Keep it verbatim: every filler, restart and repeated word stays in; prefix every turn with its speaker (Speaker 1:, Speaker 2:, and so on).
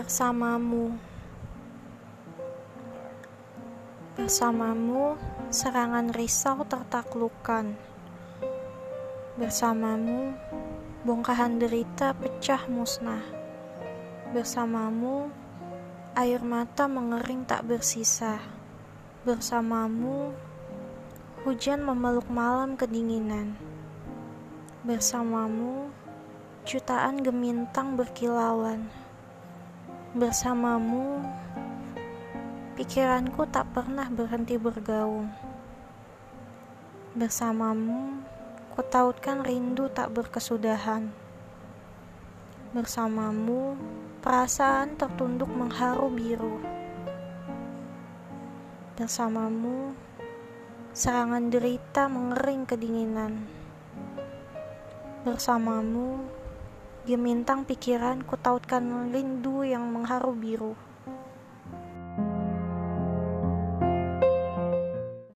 Speaker 1: Bersamamu, bersamamu, serangan risau tertaklukkan. Bersamamu, bongkahan derita pecah musnah. Bersamamu, air mata mengering tak bersisa. Bersamamu, hujan memeluk malam kedinginan. Bersamamu, jutaan gemintang berkilauan. Bersamamu, pikiranku tak pernah berhenti bergaung. Bersamamu, kutautkan rindu tak berkesudahan. Bersamamu, perasaan tertunduk mengharu biru. Bersamamu, serangan derita mengering kedinginan. Bersamamu, gemintang pikiran kutautkan rindu yang mengharu biru.